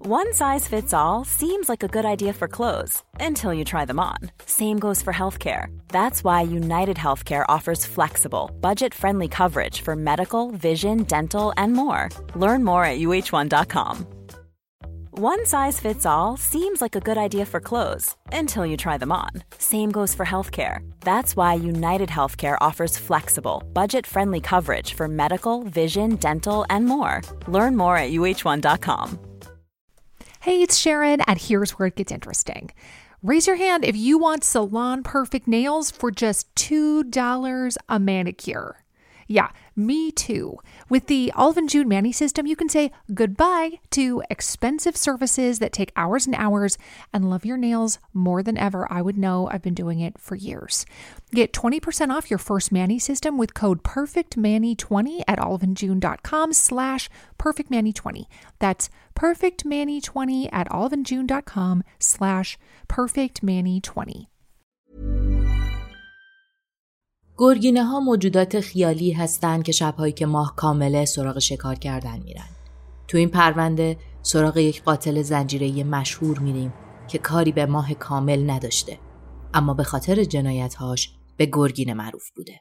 One size fits all seems like a good idea for clothes until you try them on. Same goes for healthcare. That's why United Healthcare offers flexible, budget-friendly coverage for medical, vision, dental, and more. Learn more at uh1.com. One size fits all seems like a good idea for clothes until you try them on. Same goes for healthcare. That's why United Healthcare offers flexible, budget-friendly coverage for medical, vision, dental, and more. Learn more at uh1.com. Hey, it's Sharon, and here's where it gets interesting. Raise your hand if you want salon perfect nails for just $2 a manicure. Yeah, me too. With the Olive & June Mani system, you can say goodbye to expensive services that take hours and hours and love your nails more than ever. I would know. I've been doing it for years. Get 20% off your first Mani system with code PERFECTMANI20 at oliveandjune.com/PerfectMani20. That's PerfectMani20 at oliveandjune.com/PerfectMani20. گرگینه ها موجودات خیالی هستند که شب‌هایی که ماه کامله سراغ شکار کردن میرن. تو این پرونده سراغ یک قاتل زنجیره‌ای مشهور میریم که کاری به ماه کامل نداشته، اما به خاطر جنایت‌هاش به گرگینه معروف بوده.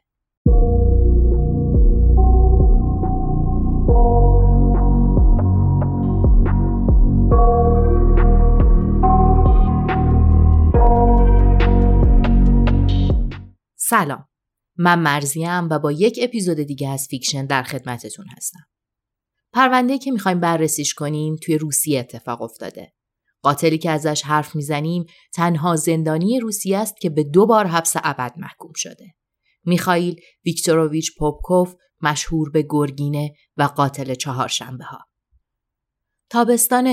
سلام. من مرزیم و با یک اپیزود دیگه از فیکشن در خدمتتون هستم. پرونده‌ای که می‌خوایم بررسیش کنیم توی روسیه اتفاق افتاده. قاتلی که ازش حرف میزنیم تنها زندانی روسیه است که به 2 بار حبس ابد محکوم شده. میخائیل ویکتوروویچ پوپکوف، مشهور به گرگینه و قاتل چهارشنبه‌ها. تابستان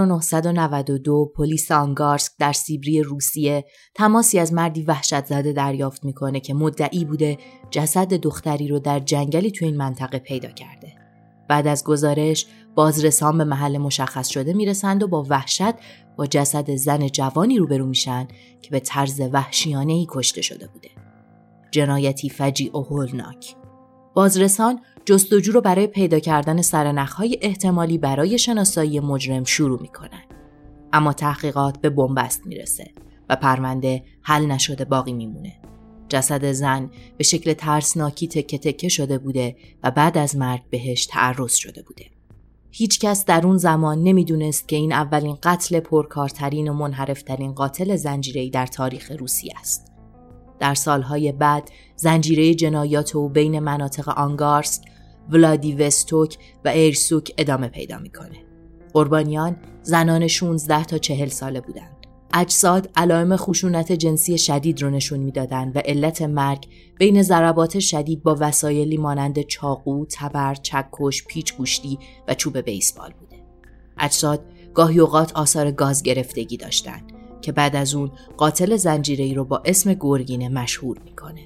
1992 پلیس آنگارسک در سیبری روسیه تماسی از مردی وحشت زده دریافت میکنه که مدعی بوده جسد دختری رو در جنگلی تو این منطقه پیدا کرده. بعد از گزارش بازرسان به محل مشخص شده میرسند و با وحشت با جسد زن جوانی روبرو میشن که به طرز وحشیانه‌ای کشته شده بوده. جنایتی فجیع و هولناک. بازرسان جستجو رو برای پیدا کردن سرنخ‌های احتمالی برای شناسایی مجرم شروع می‌کنن. اما تحقیقات به بنبست میرسه و پرونده حل نشده باقی میمونه. جسد زن به شکل ترسناکی تکه تکه شده بوده و بعد از مرگ بهش تعرض شده بوده. هیچ کس در اون زمان نمیدونست که این اولین قتل پرکارترین و منحرفترین قاتل زنجیره‌ای در تاریخ روسیه است. در سالهای بعد زنجیره جنایات او بین مناطق آنگارسک، ولادیوستوک و ایرسوک ادامه پیدا میکنه. قربانیان زنان 16 تا 40 ساله بودند. اجساد علائم خشونت جنسی شدید رو نشون میدادند و علت مرگ بین ضربات شدید با وسایلی مانند چاقو، تبر، چکش، پیچ گوشتی و چوب بیسبال بوده. اجساد گاهی اوقات آثار گاز گرفتگی داشتند که بعد از اون قاتل زنجیره‌ای رو با اسم گرگینه مشهور میکنه.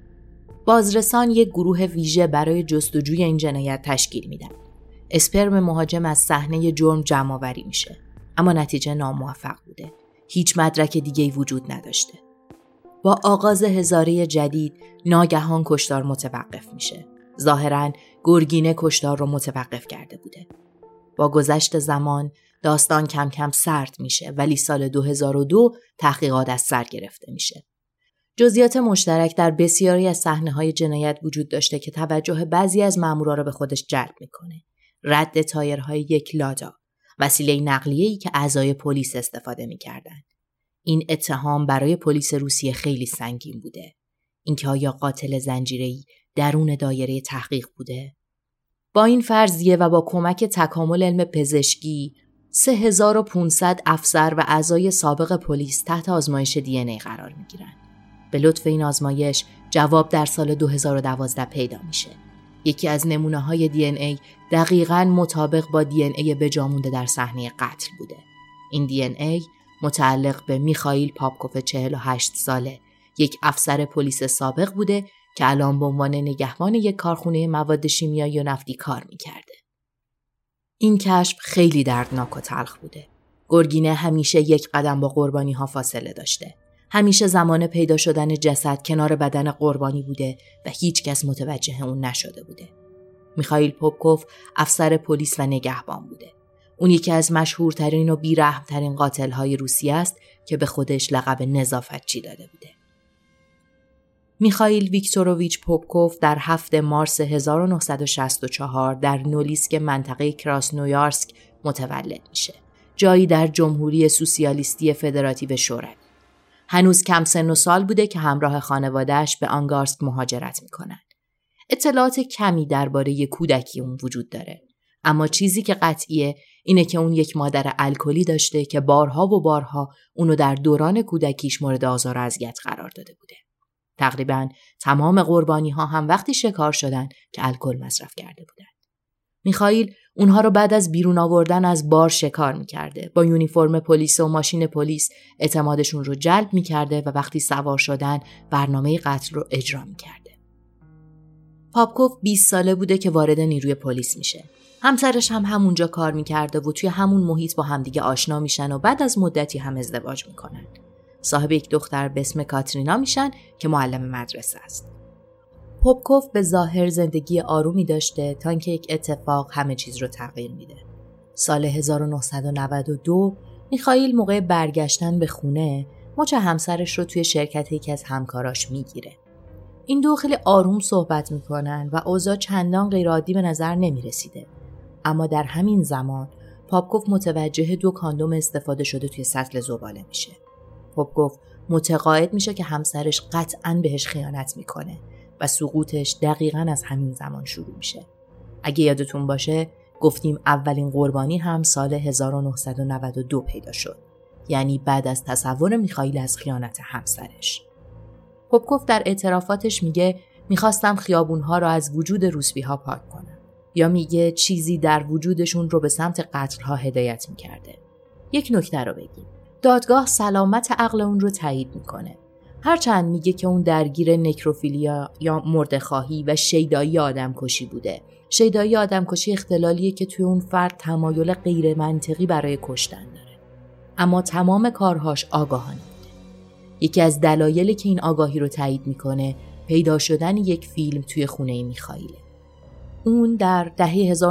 بازرسان یک گروه ویژه برای جستجوی این جنایت تشکیل میدن. اسپرم مهاجم از صحنه جرم جمع‌آوری میشه، اما نتیجه ناموفق بوده. هیچ مدرک دیگه‌ای وجود نداشته. با آغاز هزاره جدید ناگهان کشتار متوقف میشه. ظاهراً گرگینه کشتار رو متوقف کرده بوده. با گذشت زمان داستان کم کم سرد میشه، ولی سال 2002 تحقیقات از سر گرفته میشه. جزئیات مشترک در بسیاری از صحنه‌های جنایت وجود داشته که توجه بعضی از مامورا را به خودش جلب میکنه. رد تایرهای یک لادا، وسیله نقلیه‌ای که اعضای پلیس استفاده میکردن. این اتهام برای پلیس روسیه خیلی سنگین بوده. اینکه آیا قاتل زنجیره‌ای درون دایره تحقیق بوده؟ با این فرضیه و با کمک تکامل علم پزشکی 3500 افسر و اعضای سابق پلیس تحت آزمایش دی ان ای قرار میگیرن. به لطف این آزمایش جواب در سال 2012 پیدا میشه. یکی از نمونه‌های دی ان ای دقیقاً مطابق با دی ان ای بجامونده در صحنه قتل بوده. این دی ان ای متعلق به میخائیل پاپکوف 48 ساله، یک افسر پلیس سابق بوده که الان به عنوان نگهبان یک کارخونه مواد شیمیایی و نفتی کار میکرده. این کشف خیلی دردناک و تلخ بوده. گرگینه همیشه یک قدم با قربانی ها فاصله داشته. همیشه زمان پیدا شدن جسد کنار بدن قربانی بوده و هیچ کس متوجه اون نشده بوده. میخائیل پاپکوف افسر پلیس و نگهبان بوده. اون یکی از مشهورترین و بی‌رحم‌ترین قاتل‌های روسیه است که به خودش لقب نظافتچی داده بوده. میخائیل ویکتوروویچ پوپکوف در 7 مارس 1964 در نولیسک منطقه کراسنویارسک متولد میشه. جایی در جمهوری سوسیالیستی فدراتیو شوروی. هنوز کم سن و سال بوده که همراه خانواده‌اش به آنگارسک مهاجرت میکنن. اطلاعات کمی درباره کودکی اون وجود داره. اما چیزی که قطعیه اینه که اون یک مادر الکلی داشته که بارها و بارها اونو در دوران کودکیش مورد آزار و اذیت قرار داده بوده. تقریباً تمام قربانی‌ها هم وقتی شکار شدن که الکل مصرف کرده بودن. میخائیل اونها رو بعد از بیرون آوردن از بار شکار میکرده. با یونیفرم پلیس و ماشین پلیس اعتمادشون رو جلب میکرده و وقتی سوار شدن برنامه قتل رو اجرا میکرده. پاپکوف 20 ساله بوده که وارد نیروی پلیس میشه. همسرش هم همونجا کار میکرده و توی همون محیط با همدیگه آشنا میشن و بعد از مدتی هم ازدواج میکنن. صاحب یک دختر به اسم کاترینا میشن که معلم مدرسه است. پاپکوف به ظاهر زندگی آرومی داشته تا اینکه یک اتفاق همه چیز رو تغییر میده. سال 1992 میخائیل موقع برگشتن به خونه مچ همسرش رو توی شرکت یکی از همکاراش میگیره. این دو خیلی آروم صحبت میکنن و اوضاع چندان غیرعادی به نظر نمیرسیده. اما در همین زمان پاپکوف متوجه 2 کاندوم استفاده شده توی سطل زباله میشه. پاپکوف متقاعد میشه که همسرش قطعاً بهش خیانت میکنه و سقوطش دقیقاً از همین زمان شروع میشه. اگه یادتون باشه گفتیم اولین قربانی هم سال 1992 پیدا شد. یعنی بعد از تصور میخائیل از خیانت همسرش. پاپکوف در اعترافاتش میگه میخواستم خیابونها رو از وجود روسپی‌ها پاک کنم. یا میگه چیزی در وجودشون رو به سمت قتل‌ها هدایت میکرده. یک نکته رو بگیم. دادگاه سلامت عقل اون رو تایید میکنه. هرچند میگه که اون درگیر نکروفیلیا یا مرده‌خواهی و شیدایی آدمکشی بوده. شیدایی آدمکشی اختلالیه که توی اون فرد تمایل غیر منطقی برای کشتن داره. اما تمام کارهاش آگاهانه بوده. یکی از دلایلی که این آگاهی رو تایید میکنه پیدا شدن یک فیلم توی خونه میخائیله. اون در دهه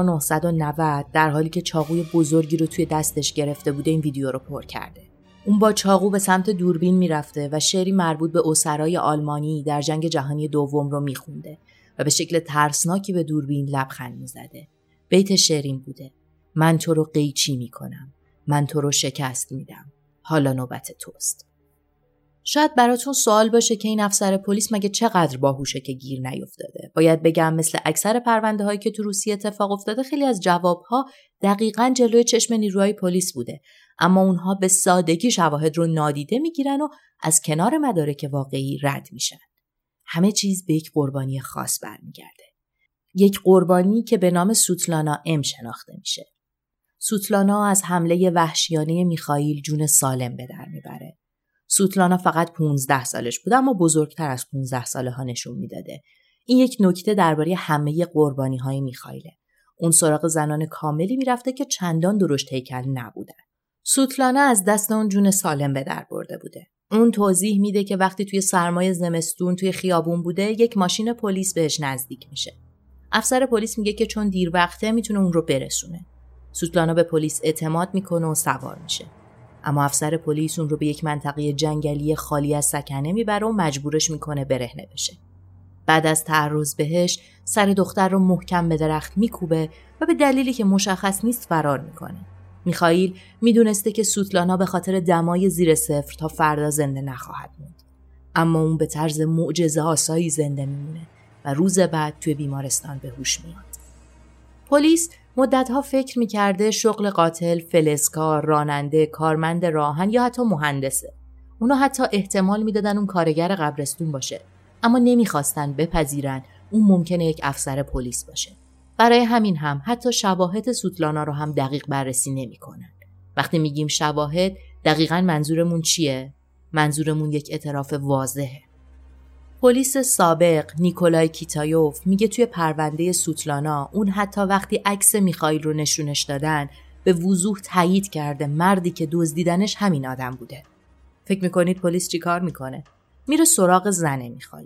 1990 در حالی که چاقوی بزرگی رو توی دستش گرفته بوده این ویدیو رو پر کرده. اون با چاقو به سمت دوربین میرفته و شعری مربوط به اسرای آلمانی در جنگ جهانی دوم رو میخونده و به شکل ترسناکی به دوربین لبخند میزده. بیت شعرین بوده: من تو رو قیچی میکنم، من تو رو شکست میدم، حالا نوبت توست. شاید براتون سوال باشه که این افسر پلیس مگه چقدر باهوشه که گیر نیفتاده. باید بگم مثل اکثر پرونده هایی که تو روسیه اتفاق افتاده خیلی از جوابها دقیقاً جلوی چشم نیروهای پلیس بوده، اما اونها به سادگی شواهد رو نادیده میگیرن و از کنار مدارک واقعی رد میشن. همه چیز به یک قربانی خاص برمیگرده. یک قربانی که به نام سوتلانا ام شناخته میشه. سوتلانا از حمله وحشیانه میخائیل جون سالم به در میبره. سوتلانا فقط 15 سالش بود اما بزرگتر از 15 ساله ها نشون میداده. این یک نکته درباره همه قربانی های میخائیله. اون سراغ زنان کاملی میرفته که چندان درشت هیکل نبودن. سوتلانا از دست اون جون سالم به در برده بوده. اون توضیح میده که وقتی توی سرمای زمستون توی خیابون بوده یک ماشین پلیس بهش نزدیک میشه. افسر پلیس میگه که چون دیر وقته میتونه اون رو برسونه. سوتلانا به پلیس اعتماد میکنه و سوار میشه. اما افسر پلیس اون رو به یک منطقه جنگلی خالی از سکنه میبره و مجبورش میکنه برهنه بشه. بعد از تعرض بهش سر دختر رو محکم به درخت میکوبه و به دلیلی که مشخص نیست فرار میکنه. میخائیل میدونسته که سوتلانا به خاطر دمای زیر صفر تا فردا زنده نخواهد موند. اما اون به طرز معجزه آسایی زنده میمونه و روز بعد توی بیمارستان به هوش میاد. پلیس مدتها فکر میکرده شغل قاتل فلزکار، راننده، کارمند راهن یا حتی مهندسه. اونا حتی احتمال میدادن اون کارگر قبرستون باشه، اما نمیخواستن بپذیرن اون ممکنه یک افسر پلیس باشه. برای همین هم حتی شواهد سوتلانا رو هم دقیق بررسی نمیکنن. وقتی میگیم شواهد دقیقاً منظورمون چیه؟ منظورمون یک اعتراف واضحه. پلیس سابق نیکولای کیتایوف میگه توی پرونده سوتلانا اون حتی وقتی عکس میخائیل رو نشونش دادن به وضوح تایید کرده مردی که دزدیدنش همین آدم بوده. فکر میکنید پلیس چی کار میکنه؟ میره سراغ زن میخائیل.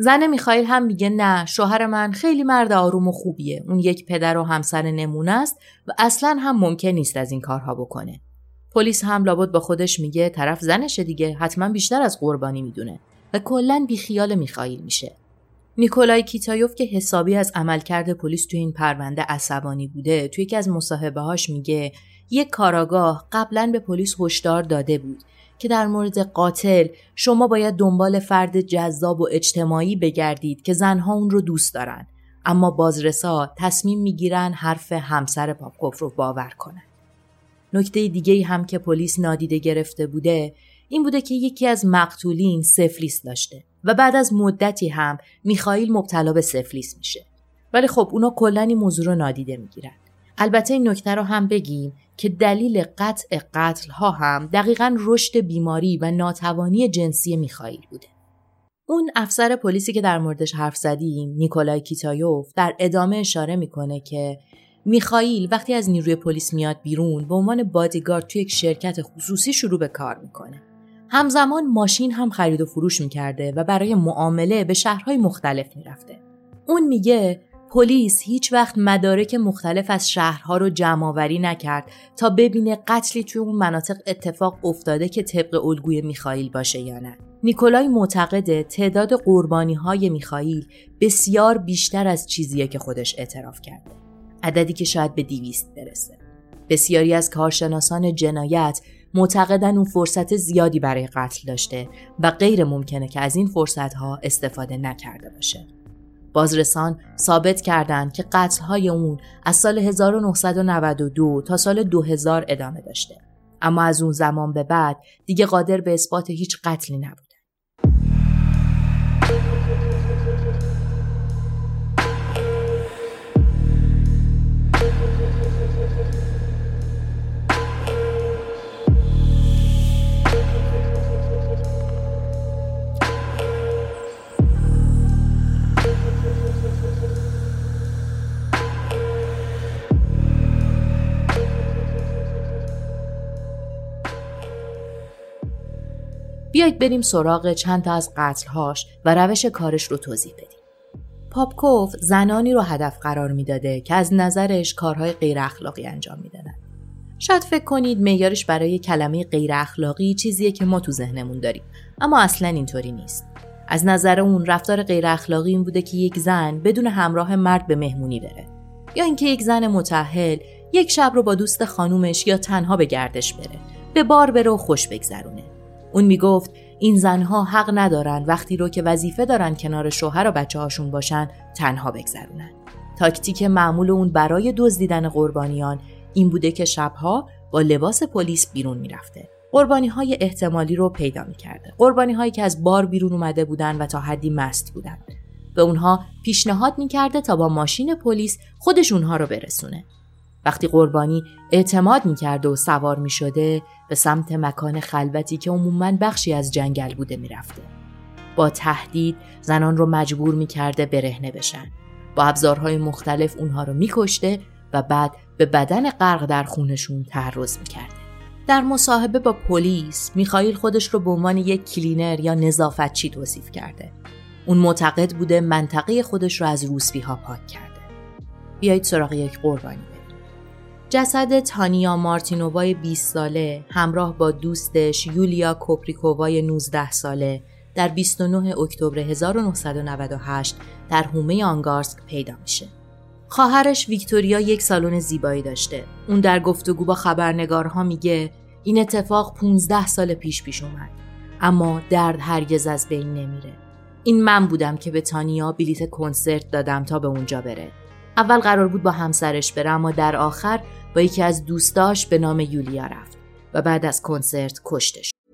زن میخائیل هم میگه نه، شوهر من خیلی مرد آروم و خوبیه. اون یک پدر و همسر نمونه است و اصلاً هم ممکن نیست از این کارها بکنه. پلیس هم لابد با خودش میگه طرف زنشه دیگه، حتما بیشتر از قربانی میدونه و کلاً بیخیال میخائیل میشه. نیکولای کیتایوف که حسابی از عملکرد پلیس توی این پرونده عصبانی بوده، توی یکی از مصاحبه‌هاش میگه یک کاراگاه قبلاً به پلیس هشدار داده بود که در مورد قاتل شما باید دنبال فرد جذاب و اجتماعی بگردید که زنها اون رو دوست دارن، اما بازرسا تصمیم میگیرن حرف همسر پاپکوف رو باور کنن. نکته دیگه‌ای هم که پلیس نادیده گرفته بوده این بوده که یکی از مقتولین سفلیس داشته و بعد از مدتی هم میخائیل مبتلا به سفلیس میشه. ولی خب اونا کلاً این موضوع رو نادیده میگیرن. البته این نکته رو هم بگیم که دلیل قطع قتل‌ها هم دقیقاً رشد بیماری و ناتوانی جنسی میخائیل بوده. اون افسر پلیسی که در موردش حرف زدیم، نیکولای کیتایوف، در ادامه اشاره میکنه که میخائیل وقتی از نیروی پلیس میاد بیرون به عنوان بادیگارد توی یک شرکت خصوصی شروع به کار میکنه. همزمان ماشین هم خرید و فروش میکرده و برای معامله به شهرهای مختلف میرفته. اون میگه پلیس هیچ وقت مدارک مختلف از شهرها رو جمع‌آوری نکرد تا ببینه قتلی توی اون مناطق اتفاق افتاده که طبق الگوی میخائیل باشه یا نه. نیکولای معتقده تعداد قربانی‌های میخائیل بسیار بیشتر از چیزیه که خودش اعتراف کرده. عددی که شاید به 200 برسه. بسیاری از کارشناسان جنایت معتقدن اون فرصت زیادی برای قتل داشته و غیر ممکنه که از این فرصت‌ها استفاده نکرده باشه. بازرسان ثابت کردند که قتل‌های اون از سال 1992 تا سال 2000 ادامه داشته، اما از اون زمان به بعد دیگه قادر به اثبات هیچ قتلی نبود. بیایید بریم سراغ چند تا از قتل‌هاش و روش کارش رو توضیح بدیم. پاپکوف زنانی رو هدف قرار میداده که از نظرش کارهای غیر اخلاقی انجام میدادن. شاید فکر کنید معیارش برای کلمه غیر اخلاقی چیزیه که ما تو ذهنمون داریم، اما اصلاً اینطوری نیست. از نظر اون رفتار غیر اخلاقی این بوده که یک زن بدون همراه مرد به مهمونی بره، یا اینکه یک زن متأهل یک شب رو با دوست خانومش یا تنها به گردش بره، به بار بره و خوش بگذرونه. اون میگفت این زنها حق ندارن وقتی رو که وظیفه دارن کنار شوهر و بچه‌هاشون باشن تنها بگذرونن. تاکتیک معمول اون برای دزدیدن قربانیان این بوده که شبها با لباس پلیس بیرون میرفته. قربانی‌های احتمالی رو پیدا می‌کرده. قربانی‌هایی که از بار بیرون اومده بودن و تا حدی مست بودن. به اونها پیشنهاد می‌کرده تا با ماشین پلیس خودش اونها رو برسونه. وقتی قربانی اعتماد می‌کرده و سوار می‌شده به سمت مکان خلوتی که عموماً بخشی از جنگل بوده می‌رفته. با تهدید زنان رو مجبور می‌کرده برهنه بشن. با ابزارهای مختلف اونها رو می‌کشته و بعد به بدن غرق در خونشون تعرض می‌کرده. در مصاحبه با پلیس میخائیل خودش رو به عنوان یک کلینر یا نظافتچی توصیف کرده. اون معتقد بوده منطقه خودش رو از روسپی‌ها پاک کرده. بیایید سراغ یک قربانی بریم. جسد تانیا مارتینووای 20 ساله همراه با دوستش یولیا کوپریکووای 19 ساله در 29 اکتبر 1998 در حومه آنگارسک پیدا میشه. خواهرش ویکتوریا یک سالن زیبایی داشته. اون در گفتگو با خبرنگارها میگه این اتفاق 15 سال پیش اومد، اما درد هرگز از بین نمیره. این من بودم که به تانیا بلیت کنسرت دادم تا به اونجا بره. اول قرار بود با همسرش بره، اما در آخر با یکی از دوستاش به نام یولیا رفت و بعد از کنسرت کشته شد.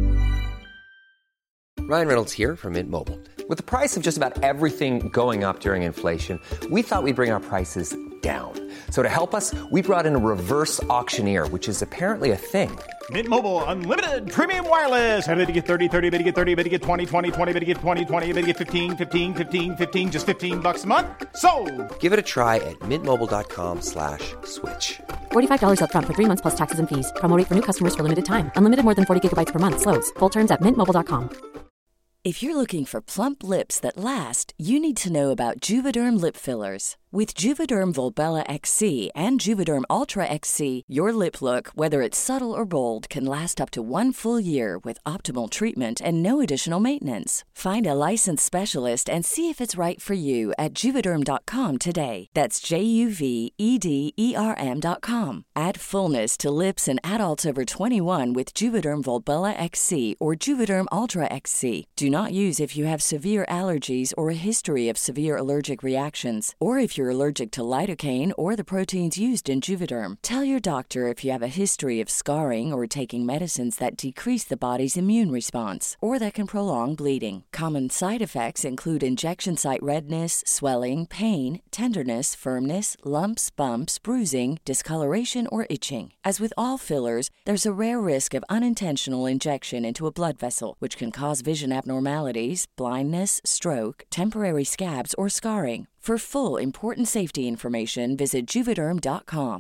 Ryan Reynolds here from Mint Mobile. With the price of just about everything going up during inflation, we thought we'd bring our prices down. So to help us, we brought in a reverse auctioneer, which is apparently a thing. Mint Mobile Unlimited Premium Wireless. How to get 30, 30, to get 30, to get 20, 20, 20, to get 20, 20, to get 15, 15, 15, 15, just $15 a month? Sold! Give it a try at mintmobile.com/switch. $45 up front for 3 months plus taxes and fees. Promo rate for new customers for limited time. Unlimited more than 40 gigabytes per month. Slows full terms at mintmobile.com. If you're looking for plump lips that last, you need to know about Juvederm lip fillers. With Juvederm Volbella XC and Juvederm Ultra XC, your lip look, whether it's subtle or bold, can last up to 1 full year with optimal treatment and no additional maintenance. Find a licensed specialist and see if it's right for you at Juvederm.com today. That's JUVEDERM.com. Add fullness to lips in adults over 21 with Juvederm Volbella XC or Juvederm Ultra XC. Do not use if you have severe allergies or a history of severe allergic reactions, or if you're allergic to lidocaine or the proteins used in Juvederm. Tell your doctor if you have a history of scarring or taking medicines that decrease the body's immune response or that can prolong bleeding. Common side effects include injection site redness, swelling, pain, tenderness, firmness, lumps, bumps, bruising, discoloration, or itching. As with all fillers, there's a rare risk of unintentional injection into a blood vessel, which can cause vision abnormalities, blindness, stroke, temporary scabs, or scarring. For full important safety information, visit Juvederm.com.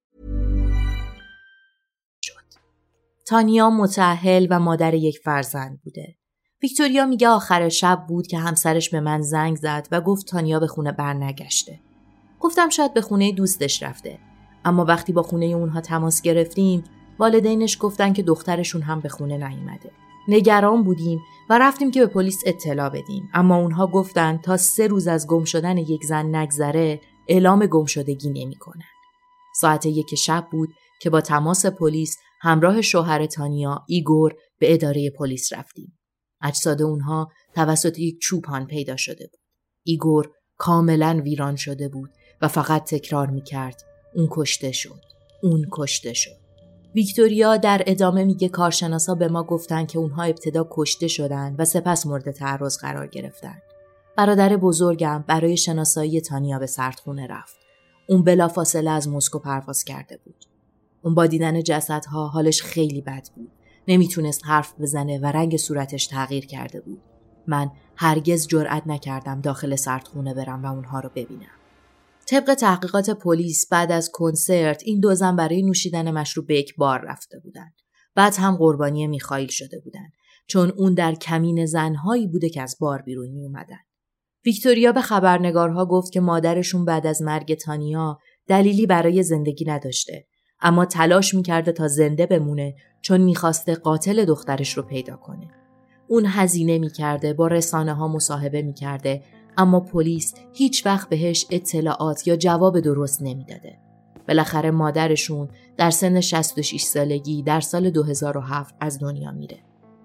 تانیا متأهل و مادر یک فرزند بوده. ویکتوریا میگه آخر شب بود که همسرش به من زنگ زد و گفت تانیا به خونه برنگشته. گفتم شاید به خونه دوستش رفته. اما وقتی با خونه اونها تماس گرفتیم، والدینش گفتن که دخترشون هم به خونه نیومده. نگران بودیم و رفتیم که به پلیس اطلاع بدیم، اما اونها گفتن تا 3 روز از گم شدن یک زن نگذره اعلام گمشدگی نمی‌کنن. ساعت 1 شب بود که با تماس پلیس همراه شوهر تانیا ایگور به اداره پلیس رفتیم. اجساد اونها توسط یک چوپان پیدا شده بود. ایگور کاملا ویران شده بود و فقط تکرار می‌کرد اون کشته شد. اون کشته شد. ویکتوریا در ادامه میگه کارشناسا به ما گفتن که اونها ابتدا کشته شدن و سپس مورد تعرض قرار گرفتن. برادر بزرگم برای شناسایی تانیا به سردخونه رفت. اون بلافاصله از مسکو پرواز کرده بود. اون با دیدن جسدها حالش خیلی بد بود. نمیتونست حرف بزنه و رنگ صورتش تغییر کرده بود. من هرگز جرئت نکردم داخل سردخونه برم و اونها رو ببینم. طبق تحقیقات پلیس بعد از کنسرت این 2 زن برای نوشیدن مشروب به یک بار رفته بودن. بعد هم قربانی میخائیل شده بودن، چون اون در کمین زنهایی بوده که از بار بیرون می اومدن. ویکتوریا به خبرنگارها گفت که مادرشون بعد از مرگ تانیا دلیلی برای زندگی نداشته، اما تلاش میکرده تا زنده بمونه چون میخواسته قاتل دخترش رو پیدا کنه. اون هزینه میکرده، با رسانه‌ها مصاحبه میکرده، اما پلیس هیچ وقت بهش اطلاعات یا جواب درست نمیداده. بالاخره مادرشون در سن 66 سالگی در سال 2007 از دنیا میره.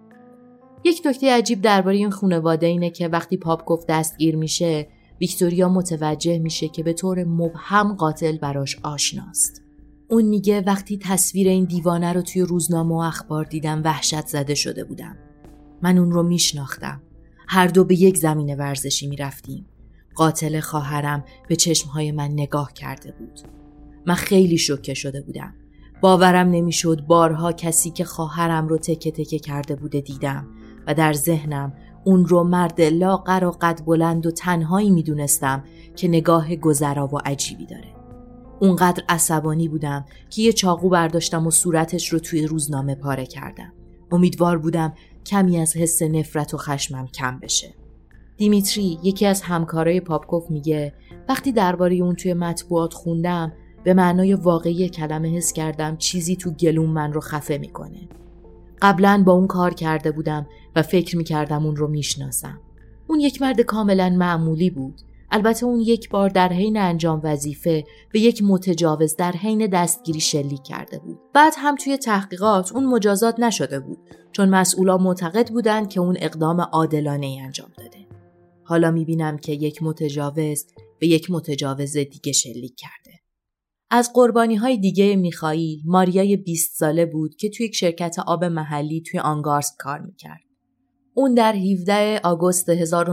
یک نکته عجیب درباره این خانواده اینه که وقتی پاپکوف دستگیر میشه، ویکتوریا متوجه میشه که به طور مبهم قاتل براش آشناست. اون میگه وقتی تصویر این دیوانه رو توی روزنامه و اخبار دیدم وحشت زده شده بودم. من اون رو میشناختم. هر دو به یک زمین ورزشی میرفتیم. قاتل خواهرم به چشمهای من نگاه کرده بود. من خیلی شوکه شده بودم. باورم نمیشد بارها کسی که خواهرم رو تکه تکه کرده بوده دیدم و در ذهنم اون رو مرد لاغر و قد بلند و تنهایی میدونستم که نگاه گذرا و عجیبی داره. اونقدر عصبانی بودم که یه چاقو برداشتم و صورتش رو توی روزنامه پاره کردم. امیدوار بودم کمی از حس نفرت و خشمم کم بشه. دیمیتری، یکی از همکارای پاپکوف، میگه وقتی درباره اون توی مطبوعات خوندم به معنای واقعی کلمه حس کردم چیزی تو گلوم من رو خفه میکنه. قبلا با اون کار کرده بودم و فکر میکردم اون رو میشناسم. اون یک مرد کاملا معمولی بود. البته اون یک بار در حین انجام وظیفه به یک متجاوز در حین دستگیری شلیک کرده بود. بعد هم توی تحقیقات اون مجازات نشده بود چون مسئولا معتقد بودند که اون اقدام عادلانه‌ای انجام داده. حالا میبینم که یک متجاوز به یک متجاوز دیگه شلیک کرده. از قربانی‌های دیگه میخائیل، ماریای 20 ساله بود که توی یک شرکت آب محلی توی آنگارسک کار میکرد. اون در 17 آگوست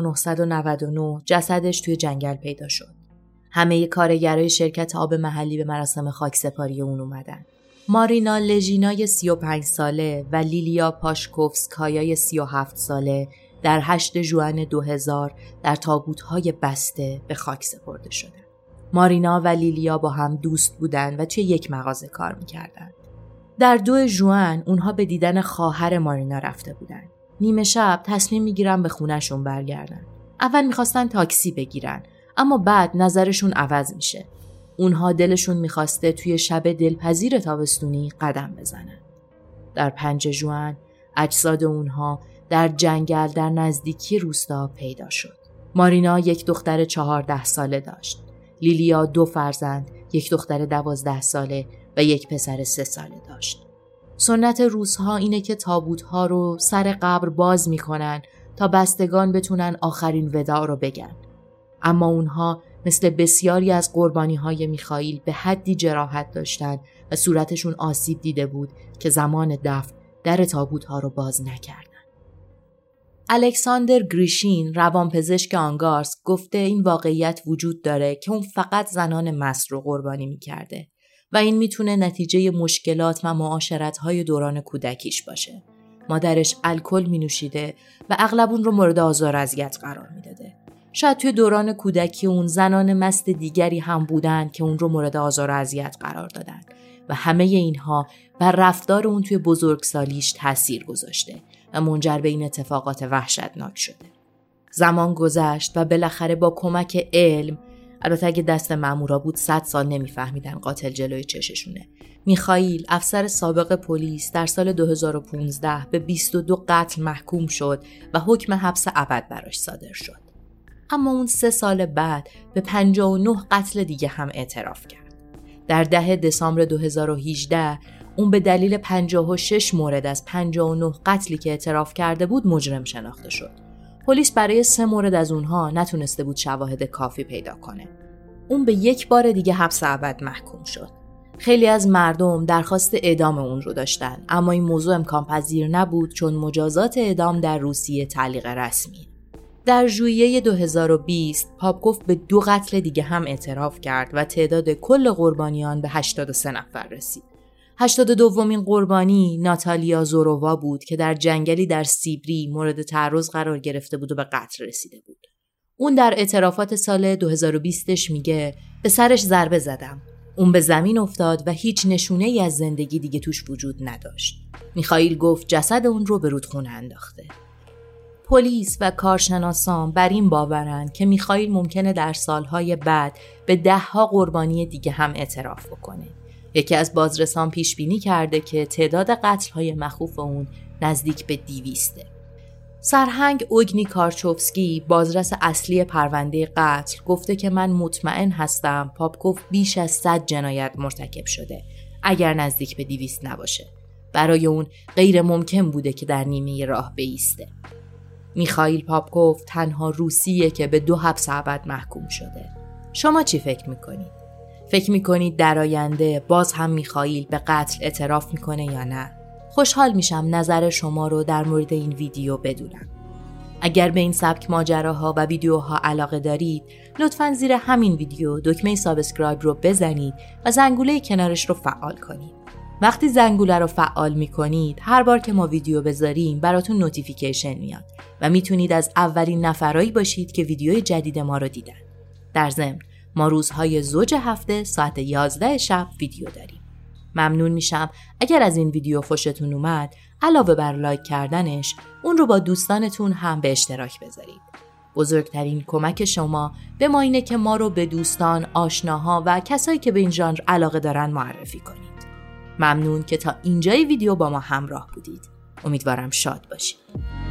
1999 جسدش توی جنگل پیدا شد. همه کارگرای شرکت آب محلی به مراسم خاکسپاری اون اومدن. مارینا لژینای 35 ساله و لیلیا پاشکوفسکایای 37 ساله در 8 ژوئن 2000 در تابوت‌های بسته به خاک سپرده شدند. مارینا و لیلیا با هم دوست بودن و توی یک مغازه کار می‌کردند. در 2 ژوئن اونها به دیدن خواهر مارینا رفته بودند. نیمه شب تصمیم میگیرن به خونه‌شون برگردن. اول میخواستن تاکسی بگیرن، اما بعد نظرشون عوض میشه. اونها دلشون میخواسته توی شب دلپذیر تابستونی قدم بزنن. در 5 ژوئن اجساد اونها در جنگل در نزدیکی روستا پیدا شد. مارینا یک دختر 14 ساله داشت. لیلیا 2 فرزند، یک دختر 12 ساله و یک پسر 3 ساله داشت. سنت روس‌ها اینه که تابوت‌ها رو سر قبر باز می‌کنن تا بستگان بتونن آخرین وداع رو بگن. اما اونها مثل بسیاری از قربانی‌های میخائیل به حدی جراحت داشتن و صورتشون آسیب دیده بود که زمان دفن در تابوت‌ها رو باز نکردن. الکساندر گریشین، روانپزشک آنگارسک، گفته این واقعیت وجود داره که اون فقط زنان مست رو قربانی می‌کرده و این میتونه نتیجه مشکلات و معاشرت‌های دوران کودکیش باشه. مادرش الکل می‌نوشیده و اغلب اون رو مورد آزار و اذیت قرار میداده. شاید توی دوران کودکی اون زنان مست دیگری هم بودن که اون رو مورد آزار و اذیت قرار دادن و همه اینها بر رفتار اون توی بزرگسالیش تأثیر گذاشته و منجر به این اتفاقات وحشتناک شده. زمان گذشت و بالاخره با کمک علم، البته اگه دست مامورا بود 100 سال نمیفهمیدن قاتل جلوی چششونه، میخائیل، افسر سابق پلیس، در سال 2015 به 22 قتل محکوم شد و حکم حبس ابد براش صادر شد. اما اون 3 سال بعد به 59 قتل دیگه هم اعتراف کرد. در 10 دسامبر 2018 اون به دلیل 56 مورد از 59 قتلی که اعتراف کرده بود مجرم شناخته شد. پلیس برای 3 مورد از اونها نتونسته بود شواهد کافی پیدا کنه. اون به 1 بار دیگه حبس ابد محکوم شد. خیلی از مردم درخواست اعدام اون رو داشتن، اما این موضوع امکان پذیر نبود چون مجازات اعدام در روسیه تعلیق رسمی. در ژوئیه 2020 پاپکوف به 2 قتل دیگه هم اعتراف کرد و تعداد کل قربانیان به 83 نفر رسید. 82مین قربانی ناتالیا زورووا بود که در جنگلی در سیبری مورد تعرض قرار گرفته بود و به قتل رسیده بود. اون در اعترافات سال 2020ش میگه به سرش ضربه زدم. اون به زمین افتاد و هیچ نشونه‌ای از زندگی دیگه توش وجود نداشت. میخائیل گفت جسد اون رو به رودخونه انداخته. پلیس و کارشناسان بر این باورن که میخائیل ممکنه در سالهای بعد به 10 قربانی دیگه هم اعتراف بکنه. یکی از بازرسان پیش بینی کرده که تعداد قتل‌های مخوف اون نزدیک به 200. سرهنگ اوگنی کارچوفسکی، بازرس اصلی پرونده قتل، گفته که من مطمئن هستم پاپکوف بیش از 100 جنایت مرتکب شده اگر نزدیک به 200 نباشه. برای اون غیر ممکن بوده که در نیمه راه بایسته. میخائیل پاپکوف تنها روسیه که به 2 حبس ابد محکوم شده. شما چی فکر میکنید؟ فکر میکنید در آینده باز هم میخائیل به قتل اعتراف میکنه یا نه؟ خوشحال میشم نظر شما رو در مورد این ویدیو بدونم. اگر به این سبک ماجراها و ویدیوها علاقه دارید، لطفاً زیر همین ویدیو دکمه سابسکرایب رو بزنید و زنگوله کنارش رو فعال کنید. وقتی زنگوله رو فعال میکنید، هر بار که ما ویدیو بذاریم براتون نوتیفیکیشن میاد و میتونید از اولین نفرایی باشید که ویدیوی جدید ما رو دیدن. در ضمن ما روزهای زوج هفته ساعت 11 شب ویدیو داریم. ممنون میشم اگر از این ویدیو خوشتون اومد، علاوه بر لایک کردنش، اون رو با دوستانتون هم به اشتراک بذارید. بزرگترین کمک شما به ما اینه که ما رو به دوستان، آشناها و کسایی که به این ژانر علاقه دارن معرفی کنید. ممنون که تا اینجای ویدیو با ما همراه بودید. امیدوارم شاد باشید.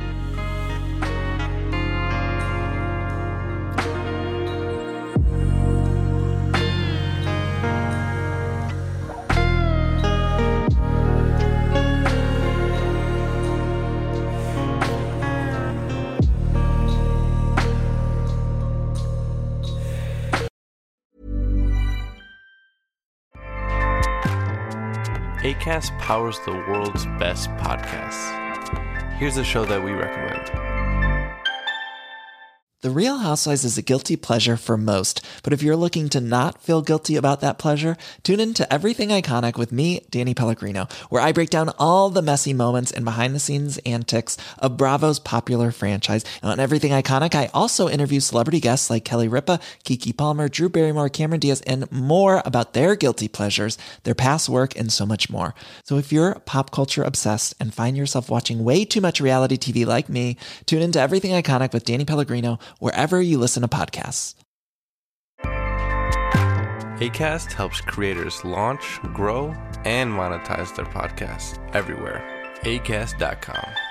Acast powers the world's best podcasts. Here's a show that we recommend. The Real Housewives is a guilty pleasure for most, but if you're looking to not feel guilty about that pleasure, tune in to Everything Iconic with me, Danny Pellegrino, where I break down all the messy moments and behind-the-scenes antics of Bravo's popular franchise. And on Everything Iconic, I also interview celebrity guests like Kelly Ripa, Keke Palmer, Drew Barrymore, Cameron Diaz, and more about their guilty pleasures, their past work, and so much more. So if you're pop culture obsessed and find yourself watching way too much reality TV like me, tune into Everything Iconic with Danny Pellegrino wherever you listen to podcasts. Acast helps creators launch, grow, and monetize their podcasts everywhere. Acast.com.